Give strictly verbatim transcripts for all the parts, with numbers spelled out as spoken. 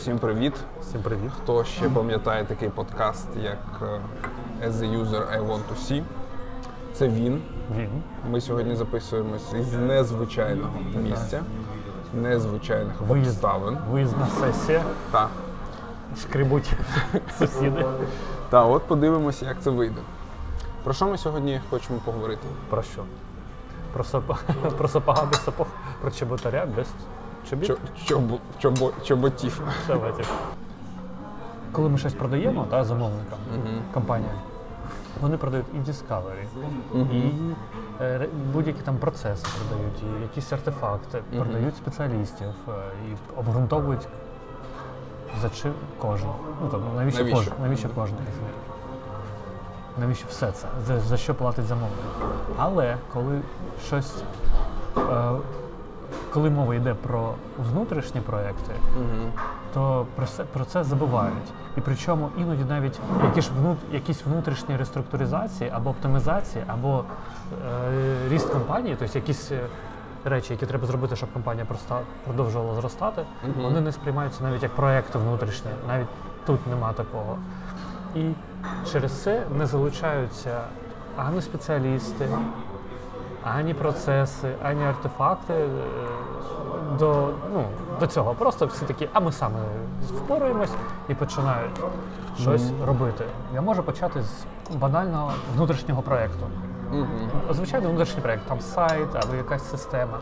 Всім привіт. Всім привіт. Хто ще пам'ятає такий подкаст, як As a User I Want to See? Це він. Він. Ми сьогодні записуємось із незвичайного місця, незвичайних Виїзд, обставин. Виїзна сесія. Так. Шкребуть сусіди. Та от подивимося, як це вийде. Про що ми сьогодні хочемо поговорити? Про що? Про, сап... про сапога без сапог, про чоботаря без чобіт? Чо, чобо, чобо, чоботів. Давайте. Коли ми щось продаємо та, замовникам, uh-huh. компаніям, вони продають і Discovery, uh-huh. і е, будь-які там процеси продають, і якісь артефакти, uh-huh. продають спеціалістів, е, і обґрунтовують, за чим кожен. Ну, там, навіщо, навіщо? Кожен, навіщо кожен із них? Навіщо все це? За, за що платить замовник? Але коли щось, е, коли мова йде про внутрішні проекти, uh-huh. то про це, про це забувають. І причому іноді навіть які ж внут, якісь внутрішні реструктуризації або оптимізації, або е, ріст компанії, тобто якісь речі, які треба зробити, щоб компанія проста, продовжувала зростати, uh-huh. вони не сприймаються навіть як проекти внутрішні, навіть тут нема такого. І через це не залучаються ані спеціалісти, ані процеси, ані артефакти до, ну, до цього. Просто всі такі, а ми самі впораємось і починають щось mm-hmm. робити. Я можу почати з банального внутрішнього проєкту. Mm-hmm. Звичайно, внутрішній проєкт, там сайт або якась система.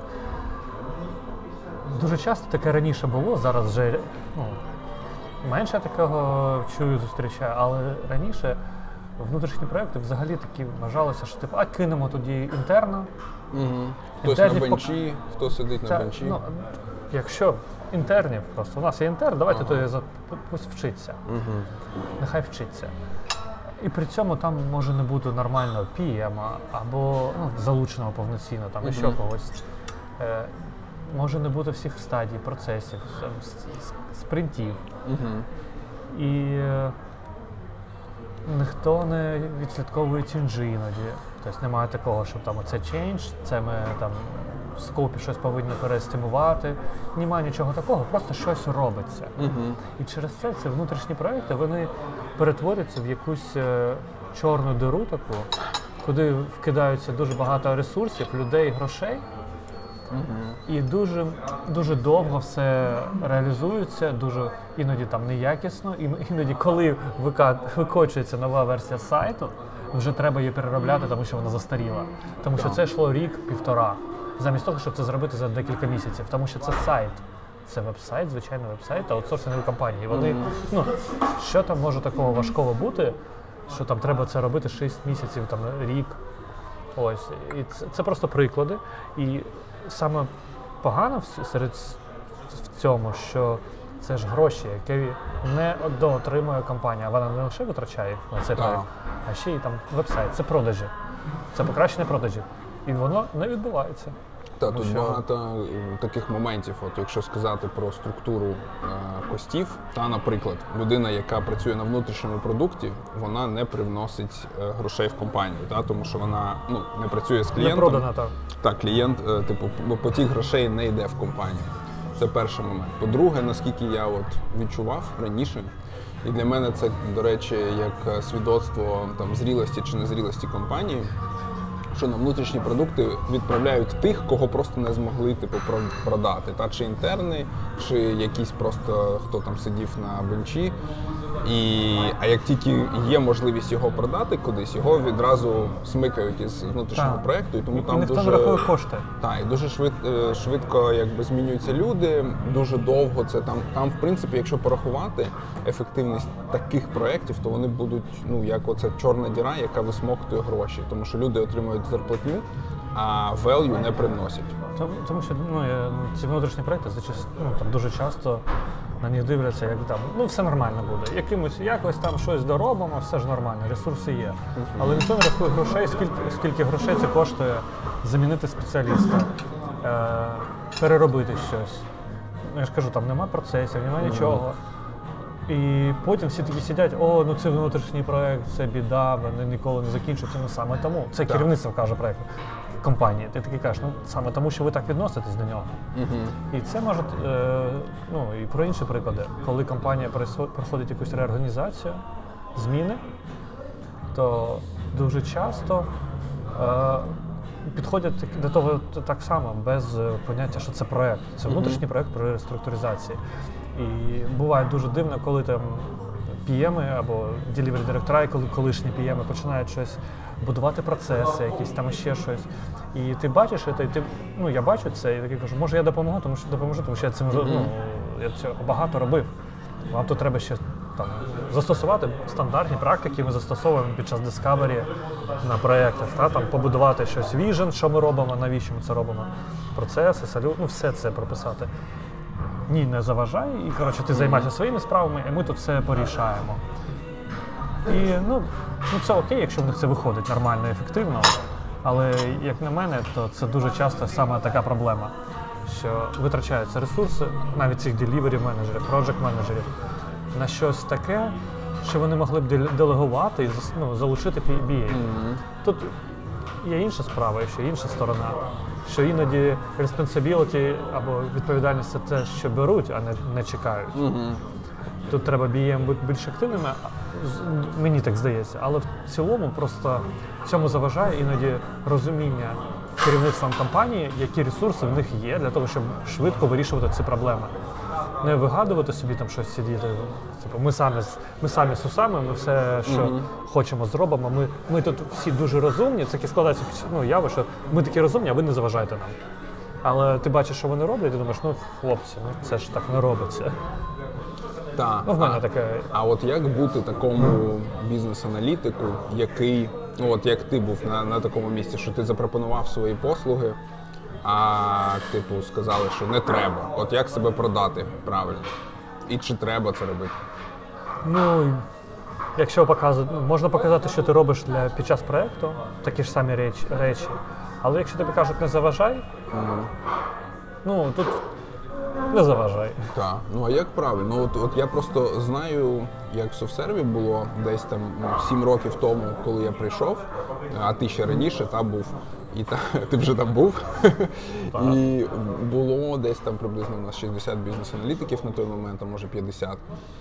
Дуже часто таке раніше було, зараз вже ну, менше такого чую, зустрічаю, але раніше внутрішні проєкти взагалі такі вважалося, що типу, а кинемо тоді інтерна. Угу. Хтось на бенчі, пок... хто сидить Та, на бенчі. Ну, якщо інтернів, просто у нас є інтерн, давайте ага. то пусть вчиться. Угу. Нехай вчиться. І при цьому там може не бути нормального пі ем або ну, залученого повноцінно, там угу. ще когось. Е, може не бути всіх стадій, процесів, спринтів. Угу. І е, ніхто не відслідковує ченджі іноді. Тобто немає такого, що там оце чендж, це ми там в скопі щось повинні перестимувати. Немає нічого такого, просто щось робиться. Uh-huh. І через це ці внутрішні проекти, вони перетворюються в якусь е, чорну диру таку, куди вкидаються дуже багато ресурсів, людей, грошей. Uh-huh. І дуже, дуже довго все реалізується, дуже іноді там неякісно, іноді коли викочується нова версія сайту, вже треба її переробляти, тому що вона застаріла. Тому що це йшло рік-півтора, замість того, щоб це зробити за декілька місяців, тому що це сайт. Це веб-сайт, звичайний веб-сайт та аутсорсингові компанії. Вони, uh-huh. ну, що там може такого важкого бути, що там треба це робити шість місяців, там рік. Ось. І це, це просто приклади. І саме погано серед в цьому, що це ж гроші, які не доотримує компанія. Вона не лише витрачає на цей проєкт, а ще й там веб-сайт. Це продажі. Це покращення продажів. І воно не відбувається. Так, тут що... багато таких моментів. От якщо сказати про структуру е, костів, та, наприклад, людина, яка працює на внутрішньому продукті, вона не привносить е, грошей в компанію, та, тому що вона ну, не працює з клієнтом. Не продана, так. Так, клієнт, е, типу, потік грошей не йде в компанію. Це перший момент. По-друге, наскільки я от відчував раніше, і для мене це, до речі, як свідоцтво там, зрілості чи незрілості компанії, що на внутрішні продукти відправляють тих, кого просто не змогли типу, продати. Та, чи інтерни, чи якийсь просто, хто там сидів на бенчі. І, а як тільки є можливість його продати кудись, його відразу смикають із внутрішнього так. проєкту. І тому і там ніхто дуже, не рахує кошти. Так, і дуже швид, швидко якби, змінюються люди, дуже довго це там. Там, в принципі, якщо порахувати ефективність таких проєктів, то вони будуть, ну, як оця чорна діра, яка висмоктує гроші. Тому що люди отримують зарплатню, а value не приносять. Тому, тому що ну, ці внутрішні проєкти ну, там дуже часто на них дивляться, як там, ну все нормально буде. Якимось, якось там щось доробимо, все ж нормально, ресурси є. Uh-huh. Але ніхто не рахує грошей, скільки, скільки грошей це коштує замінити спеціаліста, е, переробити щось. Ну, я ж кажу, там нема процесів, нема uh-huh. нічого. І потім всі такі сидять, о, ну це внутрішній проект, це біда, вони ніколи не закінчуються. Ну саме тому. Це Так. керівництво каже проекту компанії. Ти такий кажеш, ну саме тому, що ви так відноситесь до нього. Угу. І це може, е, ну і про інші приклади. Коли компанія пересо- проходить якусь реорганізацію, зміни, то дуже часто е, підходять так- до того т- так само, без е, поняття, що це проект. Це внутрішній проект при реструктуризації. І буває дуже дивно, коли там пі еми або delivery директора, і коли колишні пі еми починають щось будувати процеси, якісь там ще щось. І ти бачиш це, і ти, ну я бачу це, і такий кажу, може я допоможу, тому що допоможу, тому що я цим mm-hmm. ну, я цього багато робив. Вам тут треба ще там застосувати стандартні практики, ми застосовуємо під час Discovery на проєктах, та, там, побудувати щось vision, що ми робимо, навіщо ми це робимо, процеси, салют, ну все це прописати. Ні, не заважай, і коротше, ти займайся своїми справами, і ми тут все порішаємо. І ну, ну це окей, якщо в них це виходить нормально і ефективно, але як на мене, то це дуже часто саме така проблема, що витрачаються ресурси, навіть цих деліверів менеджерів, проджект менеджерів, на щось таке, що вони могли б деле- делегувати і зас- ну, залучити бі ей. Угу. Тут є інша справа, ще інша сторона, що іноді responsibility або відповідальність це те, що беруть, а не, не чекають. Угу. Тут треба бі ей бути більш активними, а, з- мені так здається, але в цілому просто цьому заважає іноді розуміння керівництвом компанії, які ресурси в них є для того, щоб швидко вирішувати ці проблеми. Не вигадувати собі там щось сидіти. Типу, ми самі з- ми самі з усами, ми все, що Мгм. хочемо, зробимо. Ми, ми тут всі дуже розумні. Це таке складається ну, яви, що ми такі розумні, а ви не заважаєте нам. Але ти бачиш, що вони роблять, і думаєш, ну хлопці, ну це ж так не робиться. Так. Ну, в мене а, таке. а от як бути такому бізнес-аналітику, який, ну от як ти був на, на такому місці, що ти запропонував свої послуги, а типу сказали, що не треба. От як себе продати правильно? І чи треба це робити? Ну, якщо показувати, ну, можна показати, що ти робиш для, під час проєкту, такі ж самі речі, речі. Але якщо тобі кажуть, не заважай, ну тут не заважай. Так, ну а як правильно? Ну, от, от я просто знаю, як в софсерві було десь там ну, сім років тому, коли я прийшов, а ти ще раніше та був, і та, ти вже там був. І було десь там приблизно у нас шістдесят бізнес-аналітиків на той момент, а може п'ятдесят.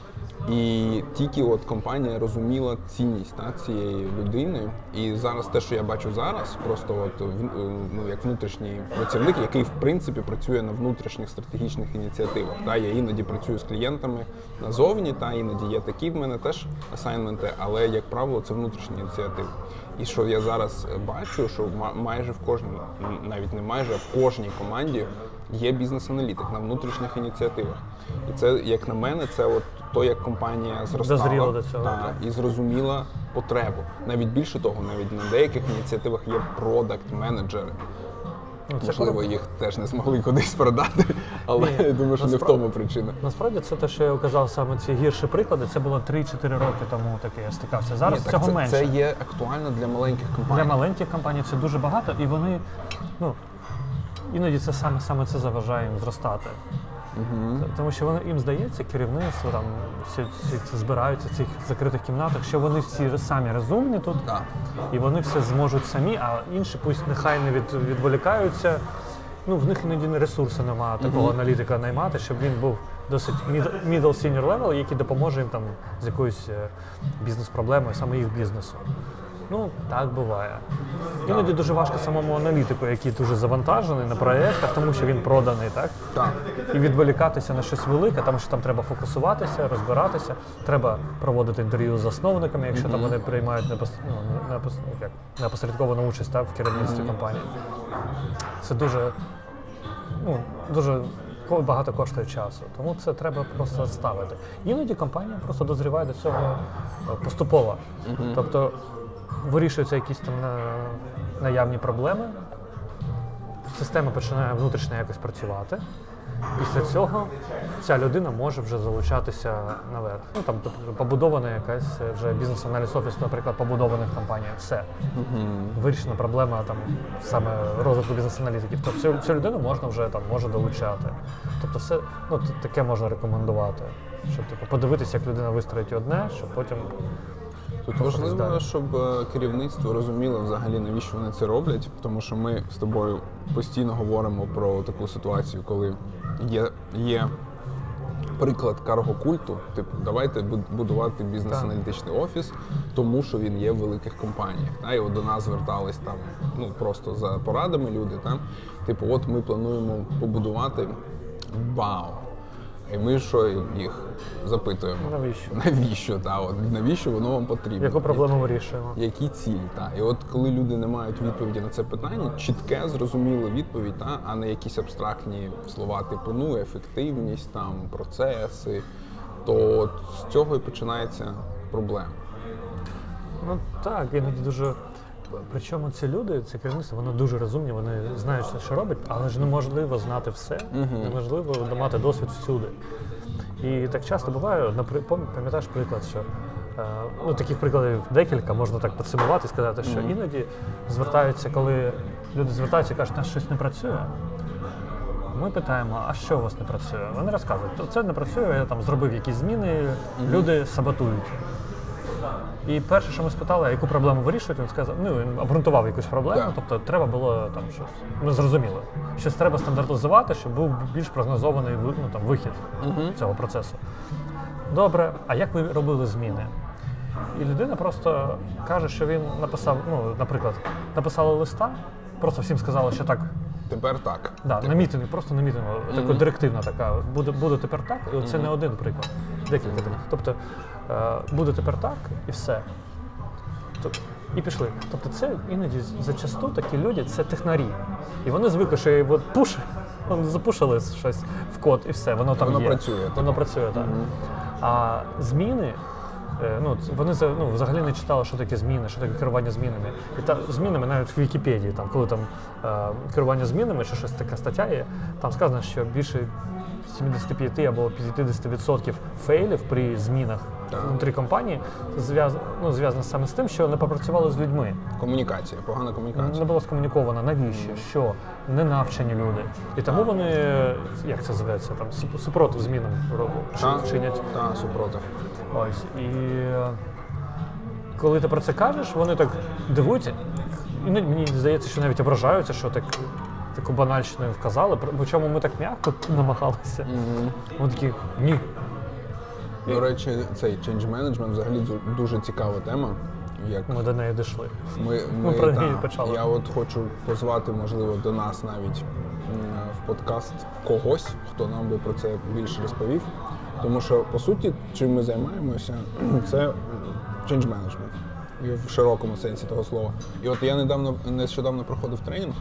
І тільки от компанія розуміла цінність та, цієї людини. І зараз те, що я бачу зараз, просто от, в- ну, як внутрішній працівник, який в принципі працює на внутрішніх стратегічних ініціативах. Та, я іноді працюю з клієнтами назовні, та, іноді є такі в мене теж асайнменти, але, як правило, це внутрішні ініціативи. І що я зараз бачу, що ма- майже в кожній, навіть не майже, а в кожній команді є бізнес-аналітик на внутрішніх ініціативах. І це, як на мене, це от то, як компанія зростала Дозріла до цього, та, так. і зрозуміла потребу. Навіть більше того, навіть на деяких ініціативах є продакт-менеджери. Ну, це Можливо, круто. їх теж не змогли кудись продати, але Ні, я думаю, що не в насправді- тому причина. Насправді це те, що я казав, саме ці гірші приклади, це було три-чотири роки тому таке я стикався. Зараз Ні, так цього це, менше. це є актуально для маленьких компаній. Для маленьких компаній це дуже багато, і вони, ну, іноді це саме, саме це заважає їм зростати. Угу. Тому що вони, їм здається, керівництво, там, всі, всі збираються в цих закритих кімнатах, що вони всі самі розумні тут, Так. і вони все зможуть самі, а інші пусть нехай не від, відволікаються. Ну, в них іноді ресурсу немає такого Мгм. аналітика наймати, щоб він був досить mid- middle senior level, який допоможе їм там з якоюсь е, бізнес-проблемою, саме їх бізнесу. Ну, так буває. Іноді дуже важко самому аналітику, який дуже завантажений на проєктах, тому що він проданий, так? Так. І відволікатися на щось велике, тому що там треба фокусуватися, розбиратися, треба проводити інтерв'ю з засновниками, якщо там вони приймають непос- ну, непос- як, непосередковану участь так, в керівництві компанії. Це дуже, ну, дуже ко- багато коштує часу, тому це треба просто ставити. Іноді компанія просто дозріває до цього е, поступово. Тобто вирішуються якісь там на- наявні проблеми, система починає внутрішньо якось працювати, Після цього ця людина може вже залучатися наверх. Ну там тобто, побудована якась вже бізнес-аналіз офіс, наприклад, побудованих компаній. Все. Mm-hmm. Вирішена проблема там саме розвитку бізнес-аналітиків. Тобто цю, цю людину можна вже там може долучати. Тобто все ну, таке можна рекомендувати. Щоб типу, подивитися, як людина вистроїть одне, щоб потім. Тут важливо, щоб керівництво розуміло взагалі, навіщо вони це роблять, тому що ми з тобою постійно говоримо про таку ситуацію, коли є, є приклад карго-культу, типу, давайте будувати бізнес-аналітичний офіс, тому що він є в великих компаніях. Та? І от до нас звертались там, ну, просто за порадами люди, та? Типу, от ми плануємо побудувати вау. І ми що їх запитуємо? Навіщо? Навіщо, та, от, навіщо воно вам потрібно? Яку проблему вирішуємо? Які цілі, та. І от коли люди не мають відповіді на це питання, чітке, зрозуміле відповідь, та, а не якісь абстрактні слова типу, ну, ефективність, там, процеси, то от з цього і починається проблема. Ну так, іноді дуже... Причому ці люди, це керівництво, воно дуже розумні, вони знають, що робить, але ж неможливо знати все, uh-huh. неможливо мати досвід всюди. І так часто буває, пам'ятаєш приклад, що ну, таких прикладів декілька, можна так підсумувати і сказати, що uh-huh. іноді звертаються, коли люди звертаються і кажуть, що щось не працює. Ми питаємо, а що у вас не працює? Вони розказують, це не працює, я там зробив якісь зміни, uh-huh. люди саботують. І перше, що ми спитали, а яку проблему вирішують, він сказав, ну, він обґрунтував якусь проблему, yeah. тобто треба було там щось, ми зрозуміли, щось треба стандартизувати, щоб був більш прогнозований ну, там, вихід uh-huh. цього процесу. Добре, а як ви робили зміни? І людина просто каже, що він написав, ну, наприклад, написали листа, просто всім сказали, що так. Тепер так. Да, тепер. На мітингу, просто на мітингу, mm-hmm. така директивна така, буде, буде тепер так, і це mm-hmm. не один приклад, декілька таких. Тобто, е, буде тепер так, і все. Тобто, і пішли. Тобто це іноді зачасту такі люди, це технарі. І вони звикли, що от пуш, вони запушили щось в код, і все, воно там воно є. Працює, воно працює, так. Mm-hmm. А зміни, ну, вони ну, взагалі не читали, що таке зміни, що таке керування змінами. І та, змінами навіть в Вікіпедії, там, коли там е, керування змінами, чи щось така стаття є, там сказано, що більше сімдесят п'ять або п'ятдесят відсотків фейлів при змінах так. внутрі компанії зв'язано ну, зв'язано саме з тим, що не попрацювали з людьми. Комунікація, погана комунікація. Не було скомуніковано, навіщо, mm. що, не навчені люди. І тому вони, як це називається, там, супротив змінам роблять, чинять. Так, супротив. Ось, і коли ти про це кажеш, вони так дивуються. І мені здається, що навіть ображаються, що так, таку банальщину вказали, причому ми так м'яко намагалися. Mm-hmm. Вони такі, ні. До речі, цей change management взагалі дуже цікава тема. Як ми до неї дійшли. Ми, ми, ми про та, неї почали. Я от хочу позвати, можливо, до нас навіть в подкаст когось, хто нам би про це більше розповів. Тому що, по суті, чим ми займаємося, це change management в широкому сенсі того слова. І от я недавно, нещодавно проходив тренінг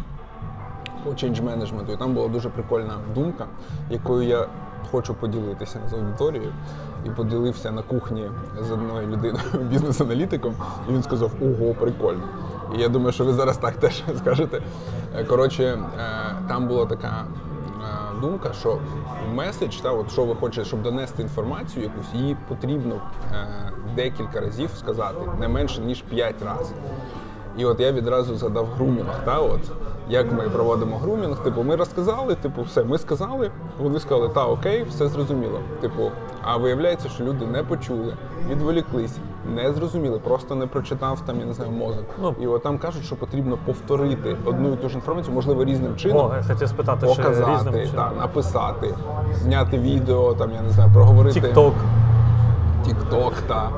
по change management, і там була дуже прикольна думка, якою я хочу поділитися з аудиторією. І поділився на кухні з одною людиною, бізнес-аналітиком, і він сказав, ого, прикольно. І я думаю, що ви зараз так теж скажете. Коротше, там була така думка, що меседж, та, от, що ви хочете, щоб донести інформацію якусь, її потрібно е, декілька разів сказати, не менше, ніж п'ять разів. І от я відразу задав грумінг, та, от, як ми проводимо грумінг, типу, ми розказали, типу, все, ми сказали, вони сказали, та, окей, все зрозуміло. Типу, а виявляється, що люди не почули, відволіклись, не зрозуміли, просто не прочитав там, я не знаю, мозок. Ну, і от там кажуть, що потрібно повторити одну і ту ж інформацію, можливо, різним чином. О, я хотів спитати, показати, різним та, чином. Написати, зняти відео, там, я не знаю, проговорити. Тік-ток. Тік-ток, так.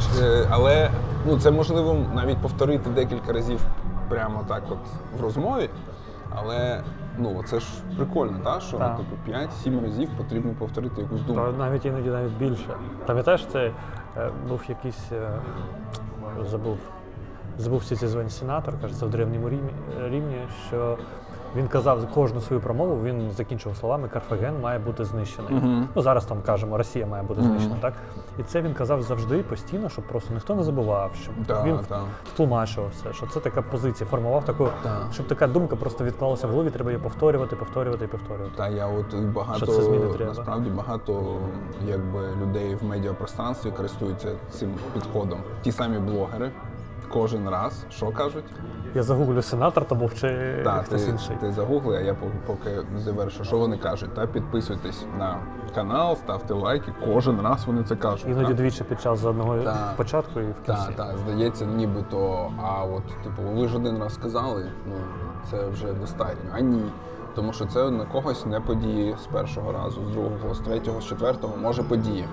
Але ну, це можливо навіть повторити декілька разів прямо так от в розмові. Але ну, це ж прикольно, та? Що так. Типу, п'ять-сім разів потрібно повторити якусь думку. Та, навіть іноді навіть більше. Пам'ятаєш, це е, був якийсь, е, забув, забув ці звані сенатор, кажеться, в Древньому Римі, Римі, що Він казав кожну свою промову, він закінчив словами «Карфаген має бути знищений». Мгм. Ну, зараз там кажемо, Росія має бути знищена, так? І це він казав завжди, постійно, щоб просто ніхто не забував, щоб Да, він да. втлумачував все, що це така позиція, формував таку, Да. щоб така думка просто відклалася в голові, треба її повторювати, повторювати і повторювати. Та я от багато, Що це зміни треба. насправді багато якби, людей в медіапространстві користуються цим підходом. Ті самі блогери кожен раз, що кажуть? Я загуглю сенатор, то був чи Так, хтось ти, інший. ти загугли, а я поки, поки завершу, що вони кажуть. Та підписуйтесь на канал, ставте лайки. Кожен раз вони це кажуть. Іноді та. двічі під час одного Так. початку і в кінці. Так, так, здається, нібито, а от, типу, ви ж один раз сказали, ну це вже достатньо. А ні. Тому що це на когось не подіє з першого разу, з другого, з третього, з четвертого, може подіє.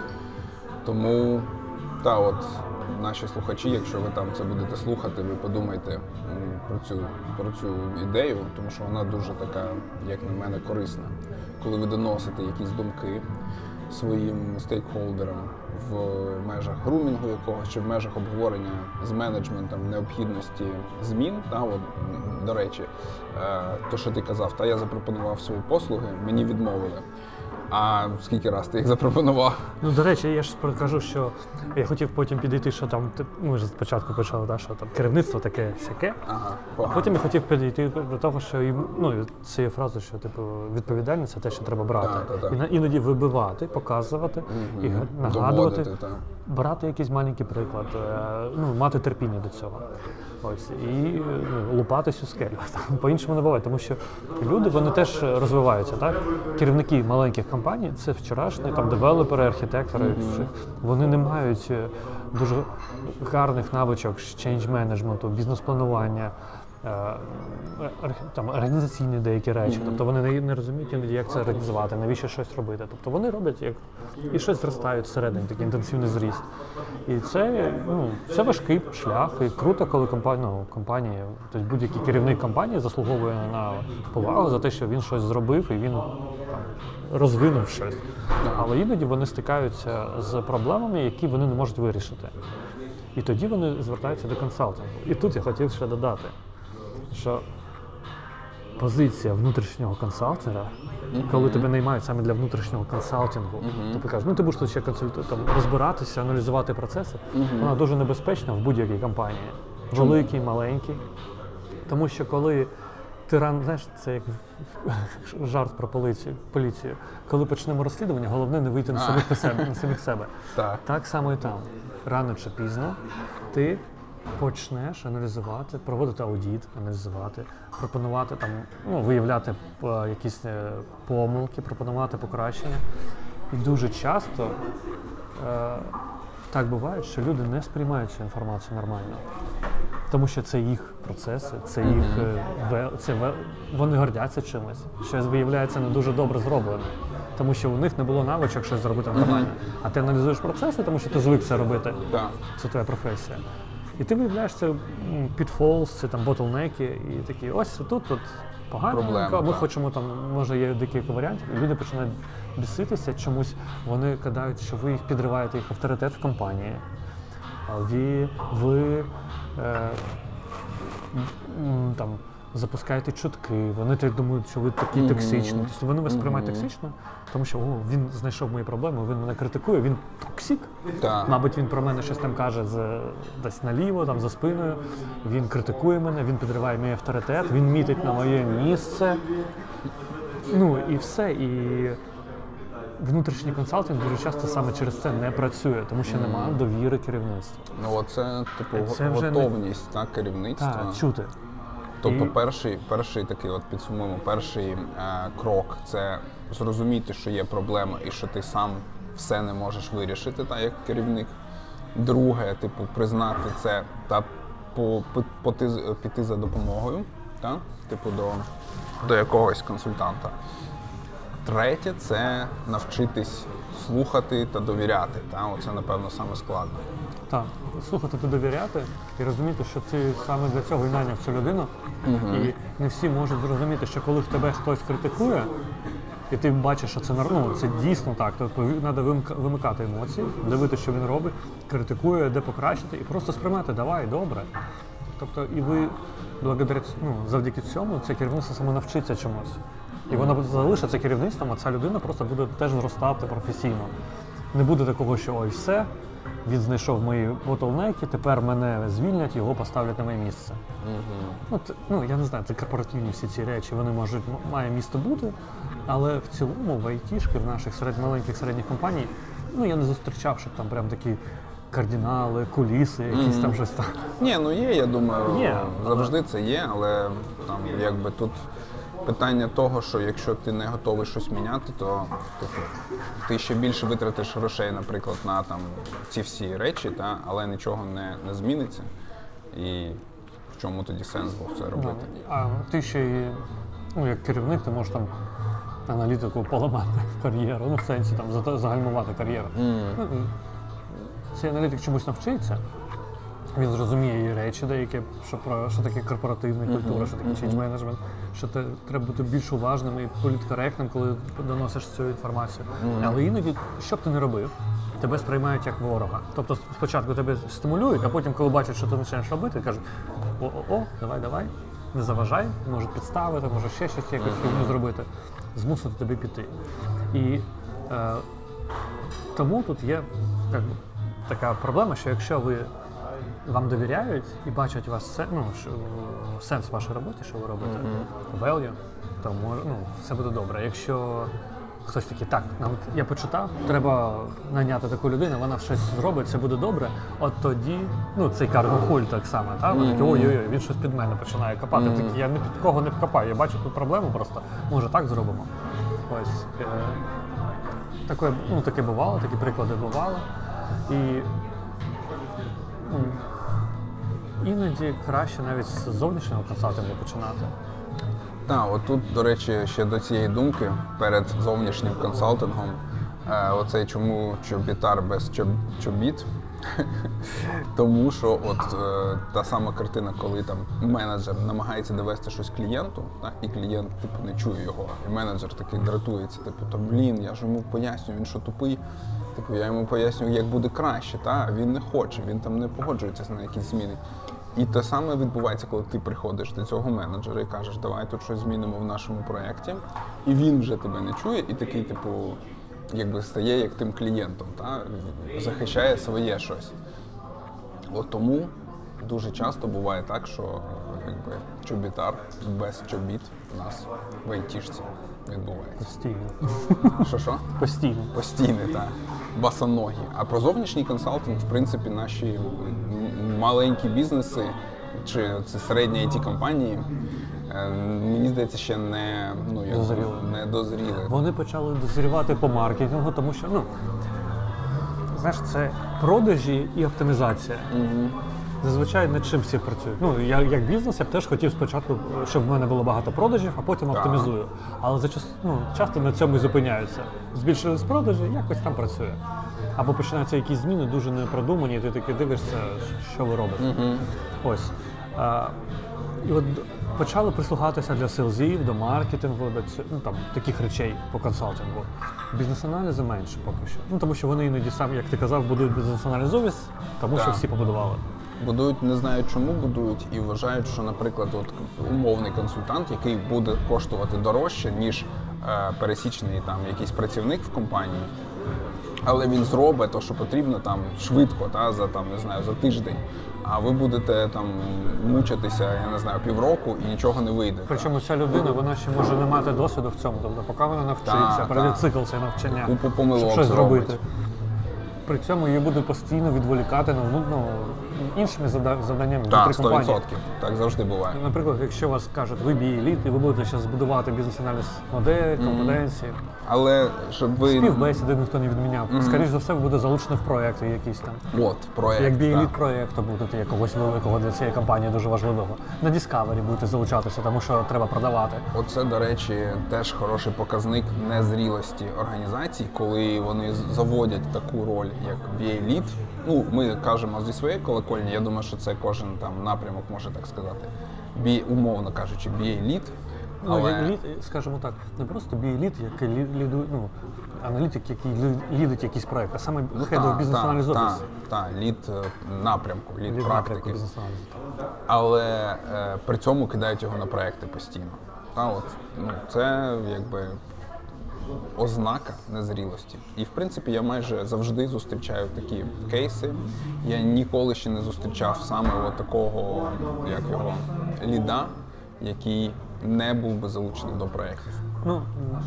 Тому, та от, наші слухачі, якщо ви там це будете слухати, ви подумайте м, про цю, про цю ідею, тому що вона дуже така, як на мене, корисна. Коли ви доносите якісь думки своїм стейкхолдерам в межах грумінгу якогось чи в межах обговорення з менеджментом необхідності змін, та, от, м, до речі, е, то, що ти казав, та я запропонував свої послуги, мені відмовили. А скільки раз ти їх запропонував? Ну, до речі, я ж кажу, що я хотів потім підійти, що там, ти- ми ж спочатку почали, да, що там керівництво таке сяке, Ага, а погано. потім я хотів підійти до того, що їм, ну, цією фразою, що типу відповідальність це те, що треба брати. Так, так, так. І на- іноді вибивати, показувати, і Мгм. нагадувати, Доводити, так. брати якийсь маленький приклад, е, ну, мати терпіння до цього. Ось, і ну, лупатись у скелю. Там, по-іншому не буває, тому що люди, вони теж розвиваються, так? Керівники маленьких компаній, це вчорашні там девелопери, архітектори, mm-hmm. вони не мають е, дуже гарних навичок з change менеджменту, бізнес-планування, е, арх- там, організаційні деякі речі. Mm-hmm. Тобто вони не, не розуміють іноді, як це організувати, навіщо щось робити. Тобто вони роблять як і щось зростають всередині, такий інтенсивний зріст. І це, ну, це важкий шлях. І круто, коли компанія, ну, компанія, тобто будь-який керівник компанії заслуговує на повагу за те, що він щось зробив і він там, розвинув щось. Але іноді вони стикаються з проблемами, які вони не можуть вирішити. І тоді вони звертаються до консалтингу. І тут я хотів ще додати, що позиція внутрішнього консалтера, mm-hmm. коли тебе наймають саме для внутрішнього консалтингу, mm-hmm. то ти кажеш, ну ти будеш тут ще консульт... там, розбиратися, аналізувати процеси, mm-hmm. вона дуже небезпечна в будь-якій компанії. Великій, маленькій. Тому що коли ти ран, знаєш, це як жарт про поліцію, поліцію. Коли почнемо розслідування, головне не вийти на самих на себе. На самих себе. Так. Так само і там. Рано чи пізно ти почнеш аналізувати, проводити аудит, аналізувати, пропонувати там, ну, виявляти е, якісь е, помилки, пропонувати покращення. І дуже часто е, так буває, що люди не сприймають цю інформацію нормально. Тому що це їх процеси, це їх mm-hmm. це, вони гордяться чимось. Щось виявляється не дуже добре зроблено. Тому що у них не було навичок щось зробити нормально. Mm-hmm. А ти аналізуєш процеси, тому що ти звик це робити. Yeah. Це твоя професія. І ти виявляєш це pitfalls, це там ботлнеки, і такі, ось тут тут погано, Проблема, ми так. хочемо там, може є декілька варіантів, і люди починають біситися чомусь, вони кидають, що ви їх підриваєте, їх авторитет в компанії. Ви, ви е, м, там, запускаєте чутки, вони так думають, що ви такі mm-hmm. токсичні. Тобто вони вас mm-hmm. сприймають токсично, тому що о, він знайшов мої проблеми, він мене критикує, він токсик. Так. Мабуть, він про мене щось там каже з, десь наліво, там, за спиною, він критикує мене, він підриває мій авторитет, він мітить на моє місце. Ну і все. І внутрішній консалтинг дуже часто саме через це не працює, тому що немає довіри керівництва. Ну, оце, типу, Це вже не- готовність так, керівництва. Так, чути. Тобто І- перший, перший такий, от підсумуємо, перший е, крок – це зрозуміти, що є проблема і що ти сам все не можеш вирішити, так, як керівник. Друге, типу, признати це та по, по, поти, піти за допомогою, так, типу, до, до якогось консультанта. Третє – це навчитись слухати та довіряти. Та? Оце, напевно, саме складно. Так, слухати та довіряти і розуміти, що ти саме для цього і найняв цю людину. Uh-huh. І не всі можуть зрозуміти, що коли тебе хтось критикує, і ти бачиш, що це, ну, це дійсно так, тобто треба вимикати емоції, дивитися, що він робить, критикує, де покращити, і просто сприймати, давай, добре. Тобто і ви благодаря, ну, завдяки цьому це керівництво саме навчиться чомусь. І воно залишиться керівництвом, а ця людина просто буде теж зростати професійно. Не буде такого, що ой, все, він знайшов мої ботлнеки, тепер мене звільнять, його поставлять на моє місце. Угу. Ну, т- ну, я не знаю, це корпоративні всі ці речі, вони можуть, м- має місто бути, але в цілому в айтішки, в наших серед, маленьких середніх компаній, ну, я не зустрічав, щоб там прям такі кардинали, куліси, якісь там щось там. Ні, ну є, я думаю, Є, завжди це є, але там якби тут питання того, що якщо ти не готовий щось міняти, то типу, ти ще більше витратиш грошей, наприклад, на там ці всі речі, та, але нічого не, не зміниться. І в чому тоді сенс був це робити? А ти ще й, ну, як керівник, ти можеш там аналітику поламати в кар'єру, ну, в сенсі там зата- загальмувати кар'єру. Mm. Ну, і цей аналітик чомусь навчиться, він зрозуміє її речі деякі, що, про, що таке корпоративна культура, що таке change management, що те, треба бути більш уважним і політкоректним, коли доносиш цю інформацію. Але іноді, що б ти не робив, тебе сприймають як ворога. Тобто спочатку тебе стимулюють, а потім, коли бачать, що ти починаєш робити, кажуть, о-о-о, давай, давай, не заважай, можуть підставити, може ще щось якось фігню зробити, змусити тебе піти. І е, тому тут є як би, така проблема, що якщо ви вам довіряють і бачать у вас се- ну, що, сенс в вашій роботі, що ви робите, value, то може, ну, все буде добре. Якщо хтось такий, так, нам я почитав, треба найняти таку людину, вона щось зробить, це буде добре, от тоді, ну, цей карго-хуль так само, та? Вони такі, ой-ой-ой, він щось під мене починає копати. Мгм. Такі, я не під кого не вкопаю, я бачу тут проблему просто, може так зробимо. Ось. Е- таке, ну, таке бувало, такі приклади бували. І ну, іноді краще навіть з зовнішнього консалтингу починати. Так, отут, до речі, ще до цієї думки перед зовнішнім консалтингом, е, оцей чому чобітар без чоб, чобіт. Тому що от е, та сама картина, коли там менеджер намагається довести щось клієнту, та, і клієнт типу не чує його, і менеджер такий дратується, типу, та блін, я ж йому пояснюю, він що тупий. Типу, я йому пояснюю, як буде краще, та він не хоче, він там не погоджується на якісь зміни. І те саме відбувається, коли ти приходиш до цього менеджера і кажеш, давай тут щось змінимо в нашому проєкті, і він вже тебе не чує, і такий, типу, якби стає як тим клієнтом, та? Захищає своє щось. От тому дуже часто буває так, що якби, чобітар без чобіт у нас в айтішці відбувається. Постійно. Що-що? Постійно. Постійне, так. Басоногі. А про зовнішній консалтинг, в принципі, наші м- маленькі бізнеси чи це середні ай ті-компанії, е, мені здається, ще не, ну, як, Дозріли. не дозріли. Вони почали дозрівати по маркетингу, тому що, ну, знаєш, це продажі і оптимізація. Угу. Зазвичай над чим всі працюють. Ну, я як бізнес, я б теж хотів спочатку, щоб в мене було багато продажів, а потім Так. оптимізую. Але зачас, ну, часто на цьому і зупиняються. Збільшились продажі, якось там працює. Або починаються якісь зміни, дуже непродумані, і ти таки дивишся, що ви робите. Угу. Ось. А, і от почали прислухатися для селзів, до маркетингу, до цю- ну, там, таких речей по консалтингу. Бізнес-аналізи менше поки що. Ну, тому що вони іноді самі, як ти казав, будують бізнес-аналізові, тому що Так. всі побудували. Будують, не знають чому будують, і вважають, що, наприклад, от умовний консультант, який буде коштувати дорожче, ніж е, пересічний там якийсь працівник в компанії, але він зробить те, що потрібно там швидко, та, за там, не знаю, за тиждень. А ви будете там мучитися, я не знаю, півроку і нічого не вийде. Причому ця людина, вона ще може не мати досвіду в цьому. Тобто, поки вона навчиться, Так, пройде так. цикл цей навчання, Купу помилок щоб щось зробить. зробити. При цьому її буде постійно відволікати на ну, ну, іншими зада- завданнями Так, внутрі сто компанії. відсотків. Так завжди буває. Наприклад, якщо вас кажуть, ви бі еліт, і ви будете зараз збудувати бізнес-аналіз модель, компетенції, Але щоб ви... співбесіди ніхто не відміняв. Скоріше за все, ви будете залучені в проекти якісь там. От, проєкт. Як бі еліт так. проєкту будете якогось великого для цієї компанії дуже важливого. На Discovery будете залучатися, тому що треба продавати. Оце, до речі, теж хороший показник незрілості організацій, коли вони з- заводять таку роль, як бі еліт. Ну, ми кажемо зі своєї колокольні, я думаю, що це кожен там напрямок може так сказати. Бі, умовно кажучи, бі еліт, Ну, Але- як лід, скажімо так, не просто бій-лід, як лі- ліду, ну, аналітик, який лі- лідить якийсь проект, а саме Ну, Head of Business Analysis Office. Так, лід е, напрямку, лід, Лід практики. напрямку бізнес-аналізу. Але е, при цьому кидають його на проекти постійно. Та, от, ну, це якби ознака незрілості. І в принципі я майже завжди зустрічаю такі кейси. Я ніколи ще не зустрічав саме от такого, як його, ліда, який не був би залучений до проєктів. Ну,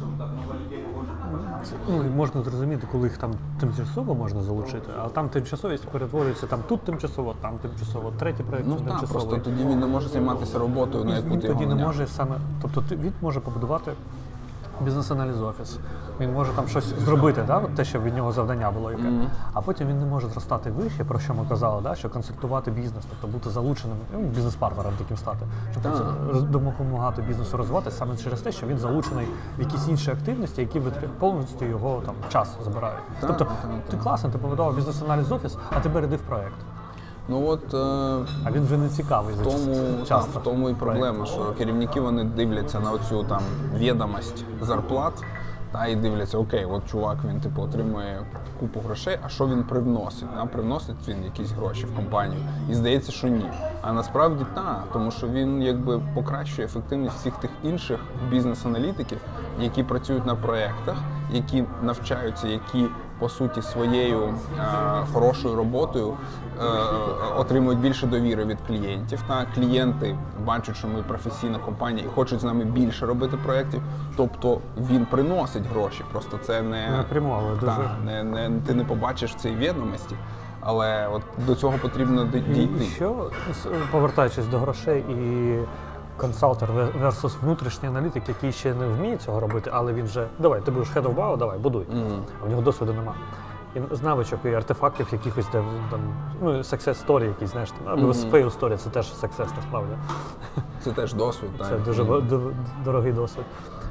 це, ну, і можна зрозуміти, коли їх там тимчасово можна залучити, а там тимчасовість перетворюється там тут тимчасово, там тимчасово, третій проєкт Ну так, тимчасовий. просто тоді він не може займатися роботою, на яку Він ти його тоді не наняв. може саме, тобто ти- він може побудувати бізнес-аналіз офіс. Він може там щось зробити, да? От те, що від нього завдання було яке. Mm-hmm. А потім він не може зростати вище, про що ми казали, да? Що консультувати бізнес, тобто бути залученим, ну, бізнес-партнером таким стати, щоб Так. це допомагати бізнесу розвиватися саме через те, що він залучений в якісь інші активності, які витр- повністю його там час забирають. Так, тобто так, ти так. класно, ти побудував бізнес-аналіз офіс, а ти береди в проект. Ну от е, А він вже не цікавий за тому, часто. так, часто. в тому і проблема, що керівники вони дивляться на оцю там відомість зарплат, та і дивляться, окей, от чувак він типу отримує купу грошей, а що він привносить? Та? Привносить він якісь гроші в компанію? І здається, що ні. А насправді так, тому що він якби покращує ефективність всіх тих інших бізнес-аналітиків, які працюють на проєктах, які навчаються, які по суті своєю е, хорошою роботою е, отримують більше довіри від клієнтів. Та клієнти бачать, що ми професійна компанія і хочуть з нами більше робити проєктів. Тобто він приносить гроші. Просто це не Напряму, але дуже. та, не, не ти не побачиш в цій відомості, але от до цього потрібно д- дійти. І що, с- повертаючись до грошей і консалтер versus внутрішній аналітик, який ще не вміє цього робити, але він вже, давай, ти будеш head of бау, давай, будуй. Мгм. А в нього досвіду нема. І з навичок і артефактів якихось, де там, ну, success story якісь, знаєш, там, або Мгм. fail story, це теж success, насправді. Це теж досвід. Це так. дуже ва- д- дорогий досвід.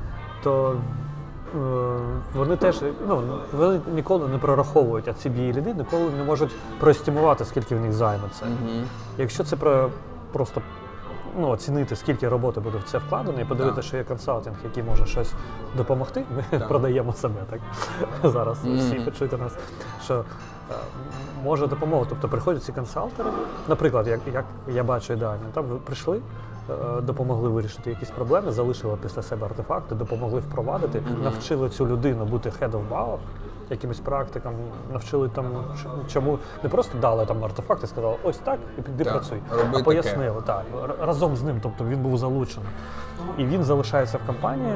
То е, вони теж, ну, вони ніколи не прораховують, а ці бій-ліди ніколи не можуть проестимувати, скільки в них займе це. Мгм. Якщо це про просто ну, оцінити, скільки роботи буде в це вкладено, і подивитися, Так. що є консалтинг, який може щось допомогти, ми Так. продаємо себе так зараз. Мгм. Всі почуйте нас, що е, може допомогти. Тобто приходять ці консалтери, наприклад, як, як я бачу ідеально, там ви прийшли, е, допомогли вирішити якісь проблеми, залишили після себе артефакти, допомогли впровадити, Мгм. навчили цю людину бути head of бау, якимось практикам, навчили там, ч- чому не просто дали там артефакти, і сказали, ось так, і піди Так, працюй. роби А таке. пояснили, так, р- разом з ним, тобто він був залучений. І він залишається в компанії,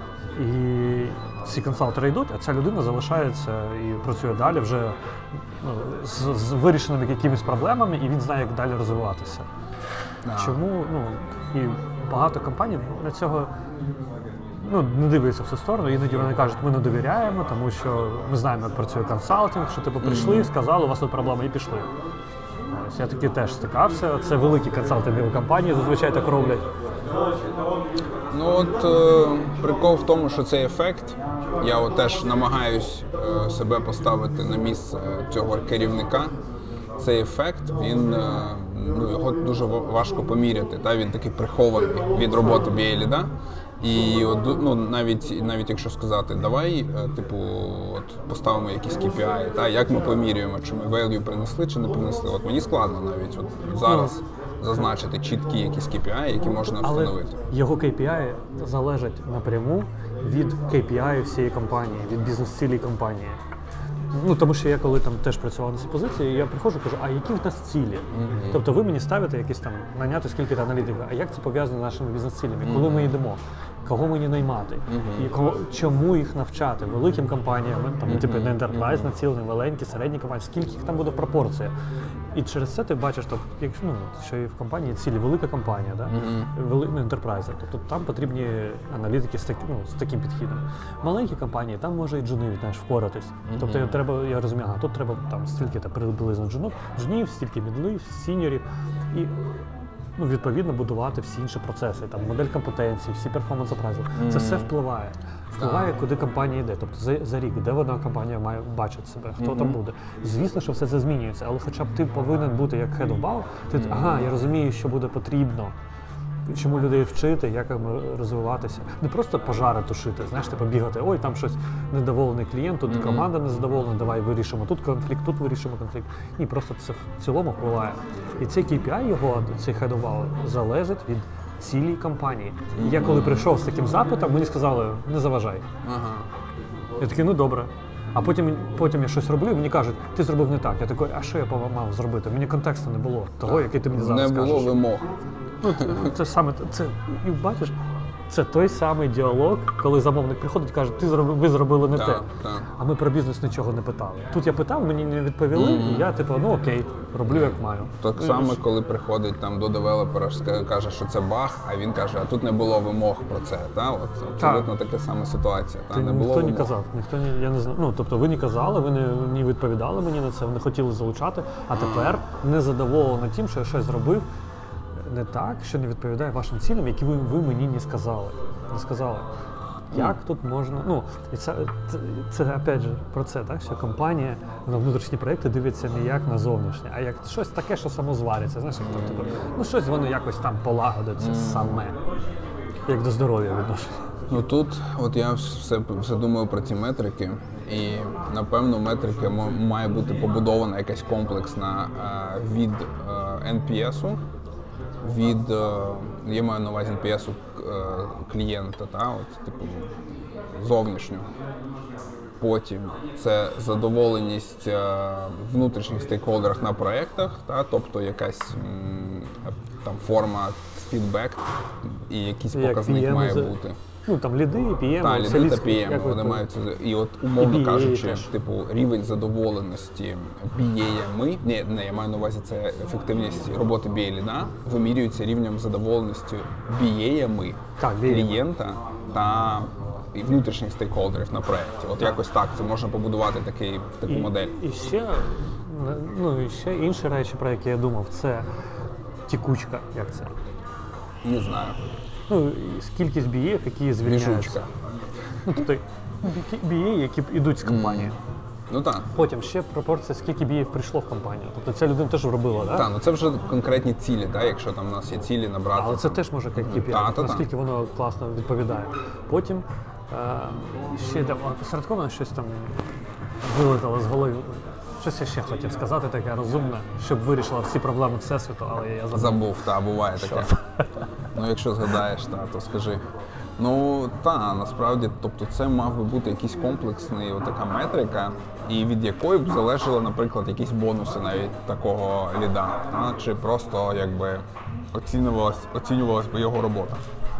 і ці консалтери йдуть, а ця людина залишається і працює далі вже ну, з, з вирішеними якимись проблемами, і він знає, як далі розвиватися. Да. Чому, ну, і багато компаній на цього ну, не дивляться в цю сторону, іноді вони кажуть, ми не довіряємо, тому що ми знаємо, як працює консалтинг, що типу прийшли, сказали, у вас тут проблеми, і пішли. Ось я таки теж стикався. Це великі консалтингові компанії, зазвичай так роблять. Ну от е, прикол в тому, що цей ефект, я от теж намагаюсь е, себе поставити на місце цього керівника. Цей ефект, він, е, ну, його дуже ва- важко поміряти. Та? Він такий прихований від роботи бі ей ліда. І от, ну, навіть, навіть якщо сказати, давай, е, типу, от, поставимо якісь кей пі ай, та? Як ми помірюємо, чи ми value принесли, чи не принесли. От мені складно навіть от, зараз зазначити чіткі якісь кей пі ай, які можна Але встановити. його кей пі ай залежать напряму від кей пі ай всієї компанії, від бізнес-цілей компанії. Ну, тому що я коли там теж працював на цій позиції, я приходжу і кажу, а які в нас цілі? Мгм. Тобто ви мені ставите якісь там, наняти скільки-то аналітиків, а як це пов'язано з нашими бізнес-цілями? Коли ми йдемо? Кого мені наймати? І кого, чому їх навчати? Великим компаніям, там, типу не enterprise націлені, маленькі, середні компанії, скільки їх там буде пропорція? І через це ти бачиш, тобто, якщо, ну, що і в компанії цілі велика компанія, да? Вели, ну, enterprise, тобто там потрібні аналітики з, так, ну, з таким підхідом. Маленькі компанії, там може і джуни, знаєш, впоратись. Тобто я, треба, я розумію, ага, тут треба там стільки приблизно джунів, джунів, стільки мідлів, сіньорів. І ну, відповідно будувати всі інші процеси, там модель компетенції, всі перформанс апрайзли. Це все впливає. Впливає, куди компанія йде. Тобто за, за рік, де вона компанія має бачити себе, хто там буде. Звісно, що все це змінюється, але хоча б ти повинен бути як head of бау, ти ага, я розумію, що буде потрібно чому людей вчити, як їм розвиватися. Не просто пожари тушити, знаєш, типу бігати, ой, там щось недоволений клієнт, тут mm-hmm. команда незадоволена, давай вирішимо тут конфлікт, тут вирішимо конфлікт. Ні, просто це в цілому впливає. І цей кей пі ай його, цей head of value, залежить від цілій компанії. І я коли прийшов з таким запитом, мені сказали, не заважай. Ага. Я такий, ну добре. А потім, потім я щось роблю, і мені кажуть, ти зробив не так. Я такий, а що я мав зробити? Мені контексту не було того, який ти мені зараз скажеш. кажеш. Не було вимог. Ну, це, це саме, це, і бачиш, це той самий діалог, коли замовник приходить і каже, ти зробив, ви зробили не так, те. Так. А ми про бізнес нічого не питали. Тут я питав, мені не відповіли, mm-hmm. і я типу, ну окей, роблю як маю. Так ну, само, коли приходить там до девелопера, каже, що це баг, а він каже, а тут не було вимог про це. Та? От, абсолютно така сама ситуація. Та? Ти, не ніхто було не вимог. казав, ніхто не, я не знаю. Ну, тобто ви не казали, ви не, не відповідали мені на це, ви не хотіли залучати, а тепер не задоволені тим, що я щось зробив не так, що не відповідає вашим цілям, які ви, ви мені не сказали. Не сказали. Як mm. тут можна, ну, і це, це, це опять же про це, так, що компанія на внутрішні проєкти дивиться не як на зовнішнє, а як щось таке, що само звариться, знаєш, як там, типу, ну щось воно якось там полагодиться mm. саме, як до здоров'я відношення. Ну тут, от я все, все думаю про ці метрики, і напевно метрики м- має бути побудована якась комплексна е, від е, ен пі ес-у, від, е, я маю на увазі ен пі ес-у е, клієнта, та, от, типу, зовнішнього. Потім це задоволеність е, внутрішніх стейкхолдерів на проєктах, та, тобто якась м, там форма фідбек і якийсь як показник пі ем має за... бути. Ну там ліди, пі ем, Так, ліди та пі ем, вони мають, і от умовно і кажучи, теж. типу, рівень задоволеності бі ей-ми, ні, не, я маю на увазі, це ефективність роботи бі ей-ліда, вимірюється рівнем задоволеності бі ей-ми, так, клієнта та і внутрішніх стейкхолдерів на проєкті. От якось так, це можна побудувати такий, таку і, модель. І ще, ну, і ще інші речі, про які я думав, це тікучка, як це? Не знаю. Ну, кількість бі ей, які звільняються. Біжучка. Ну, тобто бі ей, які йдуть з компанії. Mm. Ну так. Потім ще пропорція, скільки бі ей прийшло в компанію. Тобто ця людина теж робила, так? Так, ну це вже конкретні цілі, так, якщо там у нас є цілі набрати. Але це теж може як кей пі ай, та, наскільки та. воно класно відповідає. Потім е, ще там посередковано щось там вилетало з голови. Щось я ще хотів сказати, таке розумне, щоб вирішила всі проблеми Всесвіту, але я забув. Забув, так, буває таке. Ну, якщо згадаєш, та, то скажи. Ну, та, насправді, тобто це мав би бути якийсь комплексний, така метрика, і від якої б залежали, наприклад, якісь бонуси навіть такого ліда, та, чи просто, якби, оцінювалась, оцінювалась би його робота.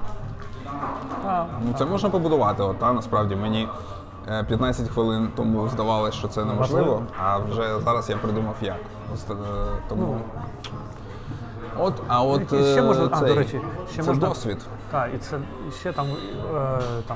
А, ну, це можна побудувати, от, та, насправді, мені п'ятнадцять хвилин тому здавалося, що це неможливо, а вже зараз я придумав як. Тому... От, а от і ще можна, цей, а, до речі, ще це можна, досвід. Так, і це і ще там, е, там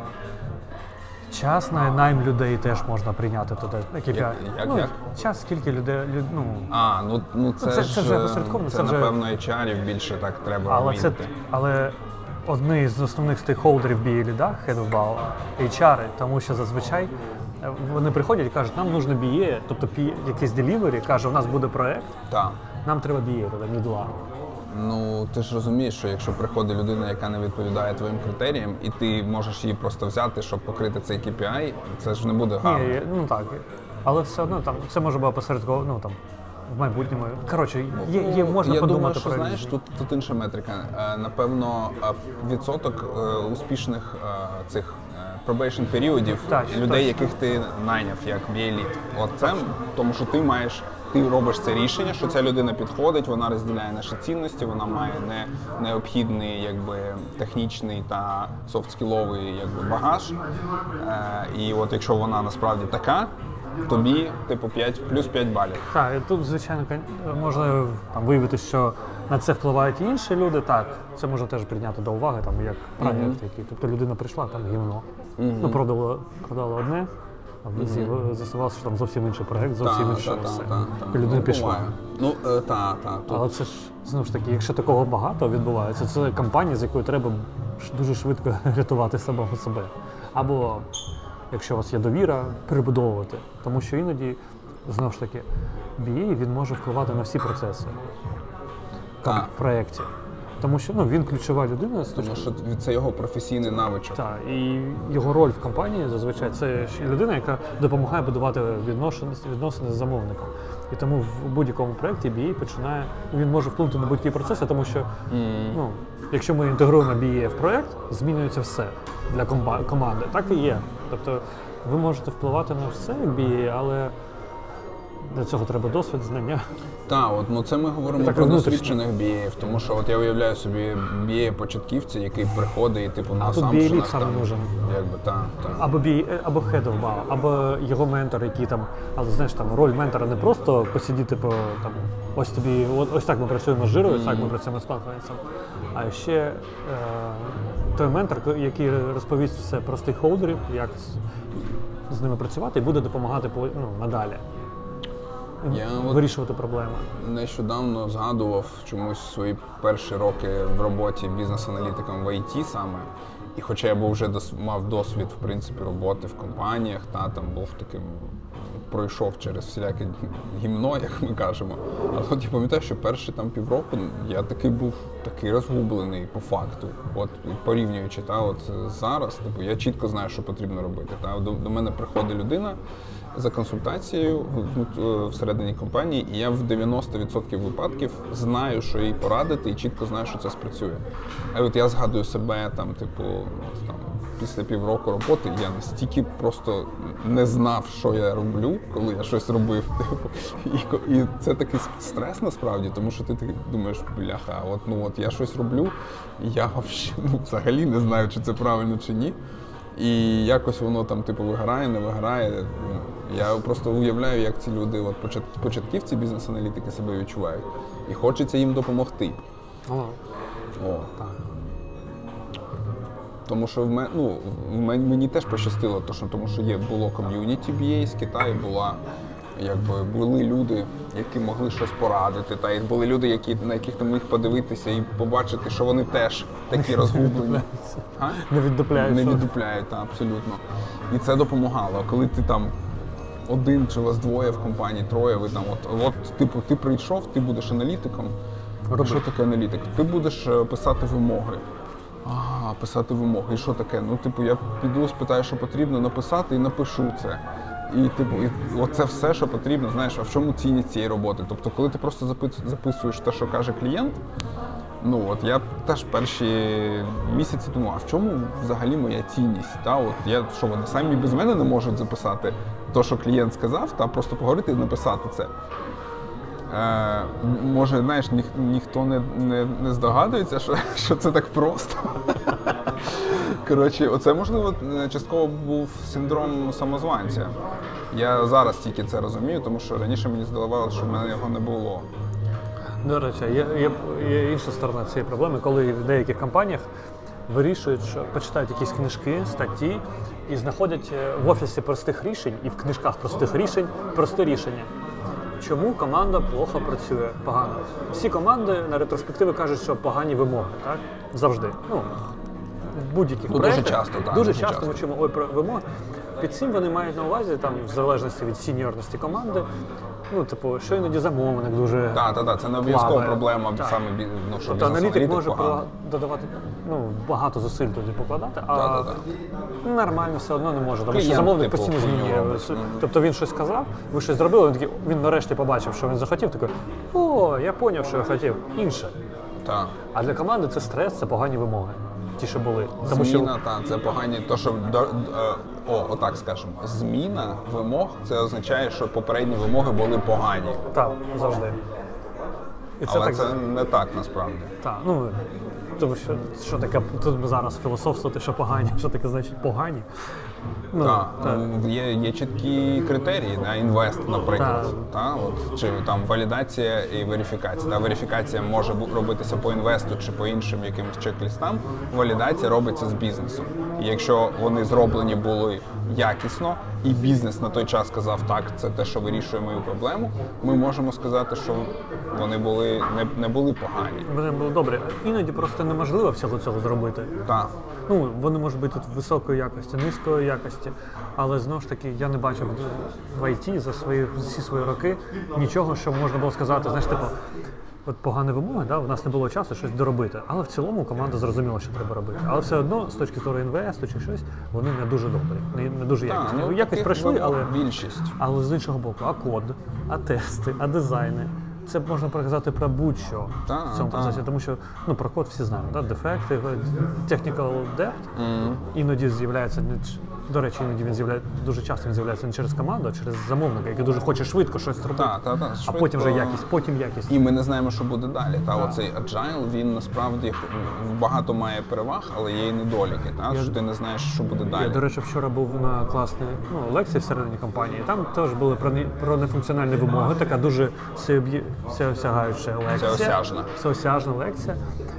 час на найм людей теж можна прийняти туди. Як, як, ну, як? Час, скільки людей, люд, ну... А, ну, ну це, це, ж, це вже посередковано, це, це вже... напевно, ейч ар-ів більше так треба але вміти. це, але одні з основних стейкхолдерів бі ей-ліда, Head of Value, ейч ар, тому що зазвичай вони приходять і кажуть, нам нужно бі ей, тобто якийсь делівері, каже, у нас буде проект, так. Нам треба бі ей, тоді мідла. Ну, ти ж розумієш, що якщо приходить людина, яка не відповідає твоїм критеріям, і ти можеш її просто взяти, щоб покрити цей кей пі ай, це ж не буде гарно. Ні, ну так, але все одно там, це може бути посередково, ну там, в майбутньому. Коротше, є, є, можна Я подумати думаю, що, про... знаєш, тут, тут інша метрика. Напевно, відсоток успішних цих probation періодів Так, людей, точно. яких ти найняв як бі ей-лід. От це, тому що ти маєш, ти робиш це рішення, що ця людина підходить, вона розділяє наші цінності, вона має не, необхідний якби, технічний та софт-скіловий якби, багаж. Е, і от якщо вона насправді така, тобі типу п'ять, плюс п'ять балів. Так, і тут, звичайно, можна там, виявити, що на це впливають і інші люди, так, це можна теж прийняти до уваги, там, як проєкт, mm-hmm. який. Тобто людина прийшла, там гівно, mm-hmm. ну, продала, продала одне, а mm-hmm. з'ясувалося, що там зовсім інший проєкт, зовсім інше та, все. Та, та, та. І людина ну, пішла. Ну, е, та, та. Тут... Але це ж, знову ж таки, якщо такого багато відбувається, це компанія, з якою треба дуже швидко рятувати самого себе. Або, якщо у вас є довіра, перебудовувати. Тому що іноді, знову ж таки, бі ей, він може впливати на всі процеси так. в проєкті. Тому що ну, він ключова людина. З Тому точки... що це його професійний навичок. Так, і його роль в компанії зазвичай це ж людина, яка допомагає будувати відносини, відносини з замовником. І тому в будь-якому проєкті бі ей починає, він може вплинути на будь-які процеси, тому що mm. ну, якщо ми інтегруємо бі ей в проєкт, змінюється все для комба- команди. Так і є. Тобто ви можете впливати на все як бі ей, але для цього треба досвід, знання. Так, от, ну це ми говоримо так, про досвідчених бі ей-ів, тому що от я уявляю собі бі ей-початківця, який приходить і типу на тут бі ей-лід саме нужен. Якби, та, та. Або бі ей, або head of бі ей, або його ментор, який там, але знаєш, там роль ментора не просто посидіти по там, ось тобі, ось так ми працюємо з жирою, ось так ми працюємо з конференсом, а ще е, той ментор, який розповість все про стейкхолдерів, як з, з ними працювати і буде допомагати ну, надалі. Я вирішувати проблеми. Нещодавно згадував чомусь свої перші роки в роботі бізнес-аналітиком в ай ті саме. І хоча я був вже дос, мав досвід в принципі роботи в компаніях, та там був таким, пройшов через всіляке гімно, як ми кажемо. Але от я пам'ятаю, що перші там півроку я такий був такий розгублений по факту. От порівнюючи, та от зараз, типу, я чітко знаю, що потрібно робити. Та до, до мене приходить людина за консультацією всередині компанії, і я в дев'яносто відсотків випадків знаю, що їй порадити, і чітко знаю, що це спрацює. А от я згадую себе, там, типу, там, після півроку роботи я настільки просто не знав, що я роблю, коли я щось робив. Типу, і, і це такий стрес насправді, тому що ти думаєш, бляха, от, ну, от я щось роблю, і я ну, взагалі не знаю, чи це правильно, чи ні. І якось воно там типу виграє, не виграє. Я просто уявляю, як ці люди, от початківці бізнес-аналітики себе відчувають. І хочеться їм допомогти. О, О. Так. Тому що в мене, ну, в мене, мені теж пощастило, тому що є, було ком'юніті бі ей з Китаю, була, якби, були люди, які могли щось порадити, та й були люди, які, на яких ти міг подивитися і побачити, що вони теж такі розгублені. Не віддупляють. Не віддупляють, так, абсолютно. І це допомагало. Коли ти там один чи вас двоє в компанії, троє, ви там, от, от типу, ти прийшов, ти будеш аналітиком. Роби. Що таке аналітик? Ти будеш писати вимоги. Ага, писати вимоги. І що таке? Ну, типу, я піду, спитаю, що потрібно написати і напишу це. І, типу, і оце все, що потрібно, знаєш, а в чому цінність цієї роботи? Тобто, коли ти просто записуєш те, що каже клієнт, ну, от я теж перші місяці думав, а в чому взагалі моя цінність? Та, от я, що вони самі без мене не можуть записати те, що клієнт сказав, та просто поговорити і написати це. Е, може, знаєш, ніх, ніхто не, не, не здогадується, що, що це так просто. Коротше, оце, можливо, частково був синдром самозванця. Я зараз тільки це розумію, тому що раніше мені здавалося, що в мене його не було. До речі, є, є, є інша сторона цієї проблеми, коли в деяких компаніях вирішують, що почитають якісь книжки, статті і знаходять в офісі простих рішень і в книжках простих рішень просте рішення. Чому команда плохо працює, погано? Всі команди на ретроспективи кажуть, що погані вимоги, так? Завжди. Ну, в будь-яких ну, проєктах. Дуже часто, так. Дуже, дуже часто часто ми чуємо, ой, про вимоги. Під цим вони мають на увазі, там, в залежності від сіньорності команди, ну, типу, що іноді замовник дуже Так, так, так, це не обов'язкова проблема, так. саме, ну, що тобто аналітик може погано. додавати, ну, багато зусиль туди покладати, а так, так, так. нормально все одно не може, тому що Клієнт, замовник типу, постійно змінює. mm-hmm. Тобто він щось сказав, ви щось зробили, він, такий, він нарешті побачив, що він захотів, такий, о, я зрозумів, що я хотів, інше. Так. А для команди це стрес, це погані вимоги. Ті, що були. Тому Зміна, що... так, це погані, то, що, до, о, отак скажемо, зміна вимог, це означає, що попередні вимоги були погані. Так, завжди. І це Але так... це не так, насправді. Так, ну, тому що, що таке, тут ми зараз філософствувати, що погані, що таке значить погані. Ну, так, так. Є, є чіткі критерії, да, інвест, наприклад, та. Та, от, чи там валідація і верифікація. Та, верифікація може робитися по інвесту чи по іншим якимось чек-лістам, валідація робиться з бізнесом. І якщо вони зроблені були якісно, і бізнес на той час сказав, так, це те, що вирішує мою проблему, ми можемо сказати, що вони були, не, не були погані. Вони були добрі. Іноді просто неможливо всього цього зробити. Так. Ну, вони можуть бути тут високої якості, низької якості, але знову ж таки я не бачив в ай ті за свої всі свої роки нічого, що можна було сказати, знаєш, типу, от погані вимоги, да, у нас не було часу щось доробити, але в цілому команда зрозуміла, що треба робити. Але все одно, з точки зору інвесту чи щось, вони не дуже добрі, не, не дуже Та, якісні. ну, Якось таких пройшли, вимог але, більшість. але з іншого боку, а код, а тести, а дизайни. Це можна проказати про будь-що Та, в цьому та. процесі, тому що ну, про код всі знають, да? Дефекти, technical debt Mm. іноді з'являється, не ч- до речі, іноді він з'являється, дуже часто він з'являється не через команду, а через замовника, який дуже хоче швидко щось зробити, Та, та, та, а швидко. потім вже якість, потім якість. І ми не знаємо, що буде далі. Та оцей agile, він насправді м, багато має переваг, але є і недоліки. Та? Що ти не знаєш, що буде далі. Я, до речі, вчора був на класній ну, лекції всередині компанії. Там теж були про, не- про нефункціональні вимоги, така дуже всеоб'є- всеосягаюча лекція. Всеосяжна. Всеосяжна лекція.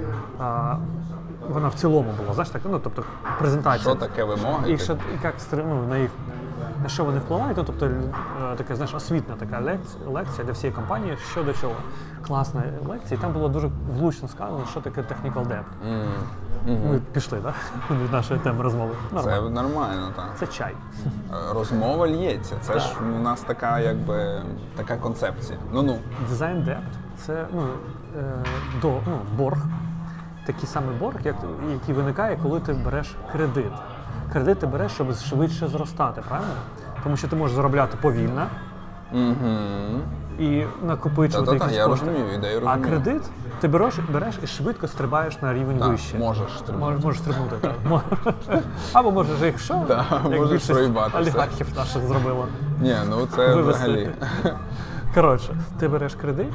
А, вона в цілому була, знаєш, так, ну, тобто презентація. Що таке вимоги? І, що, і як стри- ну, на їх на що вони впливають, ну, тобто е, така, знаєш, освітна така лекція, лекція для всієї компанії, що до чого. Класна лекція, і там було дуже влучно сказано, що таке technical debt. М, мгм. Ми пішли, так? Да? Від нашої теми розмови. Це Нормально. нормально, так. Це чай. Розмова лється. Це ж у нас така, якби, така концепція. Ну-ну. Дизайн депт це ну, е, до, ну, борг. Такий самий борг, як, який виникає, коли ти береш кредит. Кредит ти береш, щоб швидше зростати, правильно? Тому що ти можеш заробляти повільно Угу. і накопичувати Та-та-та, якісь я кошти. розумію, ідею А розумію. кредит ти береш, береш і швидко стрибаєш на рівень Так, вище. можеш стрибнути. Мож, можеш стрибнути, так. Мо- Або можеш, якщо, Да, як можеш більшість проїбатися. олігархів наших зробила. Ні, ну це Вивести. взагалі. Коротше, ти береш кредит,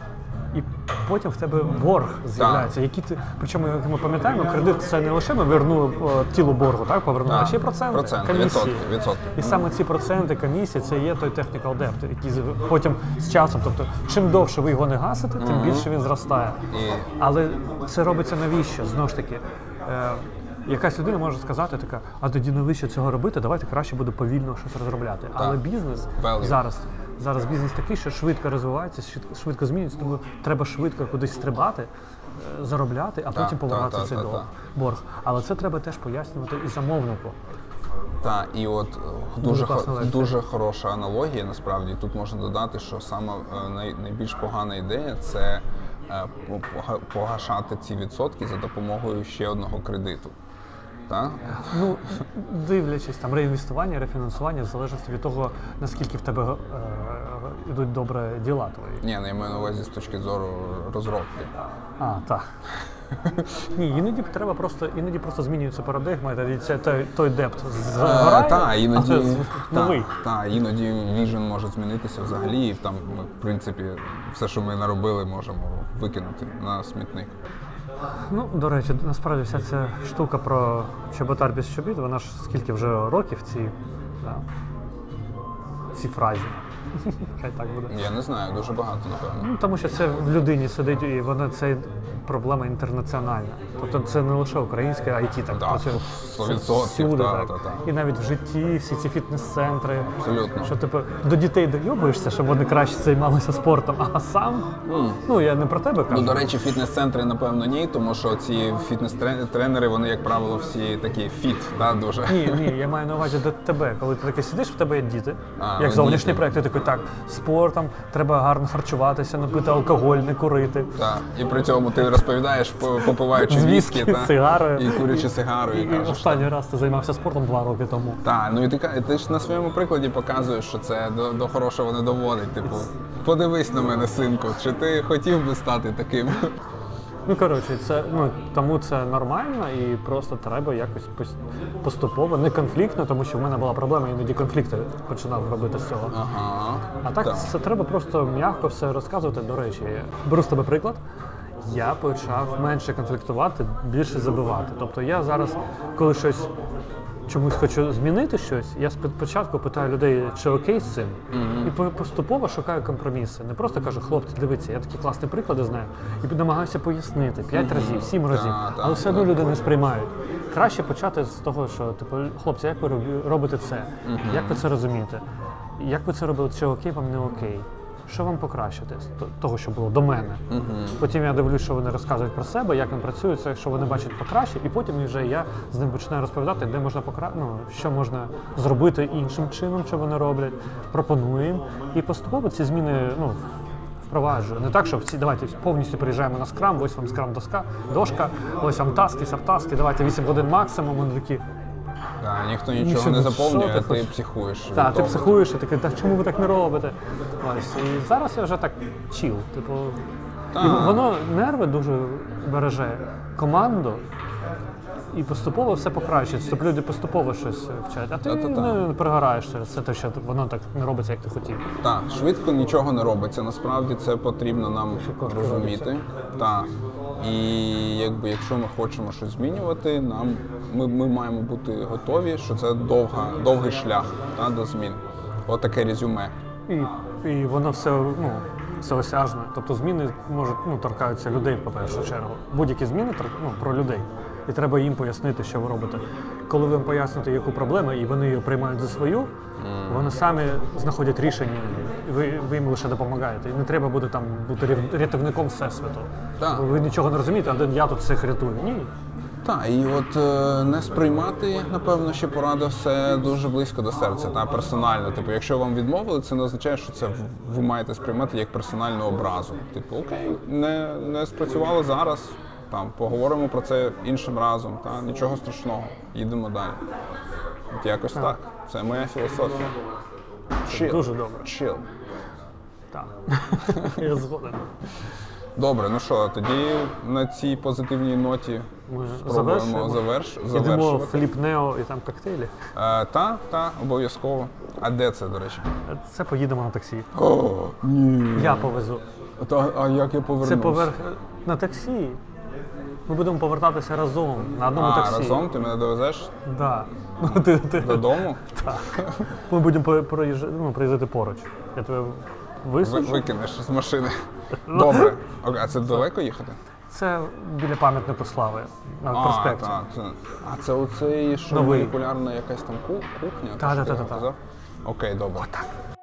і потім в тебе борг з'являється. Які ти, причому, як ми пам'ятаємо, кредит це не лише ми вернули о, тіло боргу, так, повернули, а Так, ще й проценти, проценти, комісії. відсотки, відсотки. І саме ці проценти, комісії, це є той technical debt, який з- потім з часом, тобто, чим довше ви його не гасите, тим більше він зростає. І Але це робиться навіщо? Знову ж таки, е, якась людина може сказати така, а тоді навіщо цього робити, давайте краще буде повільно щось розробляти. Але бізнес Value. зараз, зараз бізнес такий, що швидко розвивається, швидко, швидко змінюється, тому треба швидко кудись стрибати, е, заробляти, а потім та, повертати та, цей та, дол- та. борг. Але це треба теж пояснювати і замовнику. Так, і от е, Дуже дуже, класна хо- лекція. дуже хороша аналогія, насправді. Тут можна додати, що саме е, най, найбільш погана ідея це е, пога- погашати ці відсотки за допомогою ще одного кредиту. Так? Ну, дивлячись, там реінвестування, рефінансування, в залежності від того, наскільки в тебе е, йдуть добре діла твої. Ні, ну, я маю на увазі з точки зору розробки. А, так. Ні, іноді треба просто, іноді просто змінюється парадигма, і це той, той депт згорає, Так, іноді, а це новий. та, та, іноді віжен може змінитися взагалі, і там ми, в принципі, все, що ми наробили, можемо викинути на смітник. Ну, до речі, насправді вся ця штука про чоботар без чобіт, вона ж скільки вже років ці, да, ці фразі. Хай так буде. Я не знаю, дуже багато, напевно. Ну, тому що це в людині сидить, і вона це проблема інтернаціональна. Тобто це не лише українське ай ті так Так, працює. сто Це відсотків, всюди, та, так. та, та. І навіть в житті всі ці фітнес-центри. Абсолютно. Що типу до дітей дойобуєшся, щоб вони краще займалися спортом, а сам, ну я не про тебе кажу. Ну, до речі, фітнес-центри, напевно, ні, тому що ці фітнес-тренери, вони, як правило, всі такі фіт, да, дуже. Ні, ні, я маю на увазі до тебе, коли ти такий сидиш, в тебе є діти, А, як ну, зовнішній діти. проєкт, ти такий, так, спортом, треба гарно харчуватися, не пити алкоголь, не курити. Так. І при цьому ти розповідаєш, по- попиваючи З віскі, віскі, та, сигарою. і курячи сигару, і, І кажеш. останній раз ти займався спортом два роки тому. Так, ну і ти, ка- ти ж на своєму прикладі показуєш, що це до, до хорошого не доводить. Типу, подивись на мене, синку, чи ти хотів би стати таким? Ну, коротше, це, ну, тому це нормально і просто треба якось пос- поступово, не конфліктно, тому що в мене була проблема, іноді конфлікти починав робити з цього. Ага. А так, це треба просто м'яко все розказувати. До речі, беру з тебе приклад. Я почав менше конфліктувати, більше забивати. Тобто я зараз, коли щось чомусь хочу змінити щось, я спочатку питаю людей, чи окей з цим, і по- поступово шукаю компроміси. Не просто кажу, хлопці, дивіться, я такі класні приклади знаю, і намагаюся пояснити п'ять разів, сім разів, Так, так, але все одно так. люди не сприймають. Краще почати з того, що типу, хлопці, як ви робі- робите це? Як ви це розумієте? Як ви це робили? Чи окей вам не окей? Що вам покращити з то- того, що було до мене? Потім я дивлюсь, що вони розказують про себе, як вони працюють, це, що вони бачать покраще, і потім вже я з ним починаю розповідати, де можна покра... ну, що можна зробити іншим чином, що вони роблять, пропоную їм. І поступово ці зміни ну, впроваджую. Не так, що всі, давайте повністю приїжджаємо на скрам, ось вам скрам доска, дошка, ось вам таски, сабтаски, давайте вісім годин максимум. Вони такі, Да, ніхто нічого Нічого, не що заповнює, ти а ти хочеш? психуєш. від так, ти того. психуєш і такий, так чому ви так не робите? Ось, і зараз я вже так чіл. Типу, і воно нерви дуже береже команду. І поступово все покращується, тобто люди поступово щось вчать, а ти Та-та-та. не пригораєш через це, те, що воно так не робиться, як ти хотів. Так, швидко нічого не робиться. Насправді це потрібно нам кошти розуміти. Так. І якби якщо ми хочемо щось змінювати, нам ми, ми маємо бути готові, що це довга, довгий шлях та, до змін. От таке резюме. І, і воно все, ну, всеосяжне. Тобто зміни можуть, ну, торкаються людей, по першу чергу. Будь-які зміни тор- ну, про людей. І треба їм пояснити, що ви робите. Коли ви їм поясните, яку проблему, і вони її приймають за свою, mm. вони самі знаходять рішення, і ви, ви їм лише допомагаєте. І не треба буде там бути рятів- рятівником всесвіту. Так. Ви нічого не розумієте, а я тут всіх рятую. Ні. Так, і от е, не сприймати, напевно, ще порада все дуже близько до серця, та персонально. Типу, якщо вам відмовили, це не означає, що це в- ви маєте сприймати як персональну образу. Типу, окей, не, не спрацювало зараз, там поговоримо про це іншим разом, та нічого страшного, їдемо далі. От якось так. Це моя філософія. Chill. Дуже добре. Chill. Так. Я згоден. Добре, ну що, тоді на цій позитивній ноті Ми спробуємо заверш... Йдемо в завершувати. Фліп Нео і там коктейлі. Е, та, та, обов'язково. А де це, до речі? Це поїдемо на таксі. О, ні. Я повезу. Та, а як я повернусь? Це поверх на таксі. Ми будемо повертатися разом на одному А, таксі. разом ти мене довезеш Да. Ну, ти, ти, додому? так. Ми будемо по- проїжджати, ну, приїздити поруч. Я тебе Ви, висаджу. викинеш з машини. Добре. Окей, а це далеко їхати? Це біля пам'ятнику слави на А, проспекті. та, це, а це оцей, що Новий. молекулярна якась там ку- кухня? Та, Що та, ти та, та. казав? Окей, добре.